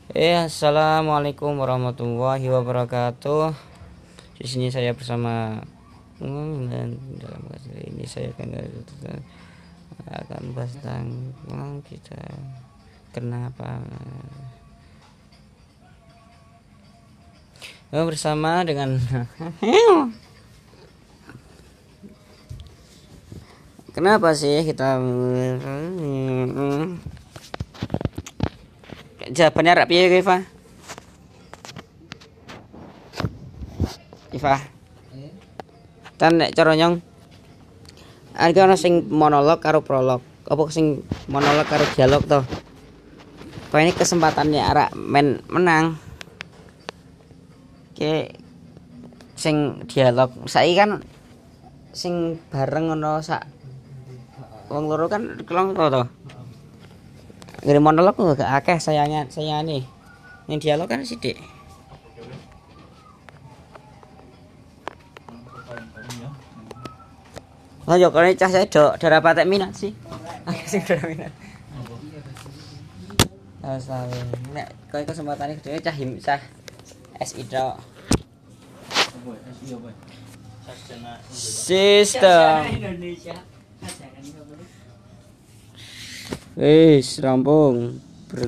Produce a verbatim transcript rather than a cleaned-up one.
Eh, assalamualaikum warahmatullahi wabarakatuh. Di sini saya bersama hmm, dan dalam kasus ini saya akan akan bahas tentang hmm, kita kenapa oh, bersama dengan kenapa sih kita jawabannya rapi ya Iva Iva tan nek cara nyong iki ana sing monolog karo prolog apa sing monolog karo dialog to kok ini kesempatannya arek men menang ke sing dialog saiki kan sing bareng ngono sak wong loro kan kelong to to ngene monolog kok gak akeh sayangnya saya nih yang dialog kan sithik. Lah yo kene cah saya dok darah patek minat sih. Akeh sing darah minat. Ah sawe. Nek kowe kesempatane gedhe cah him cah S I tok. Sistem Indonesia. Wis rampung.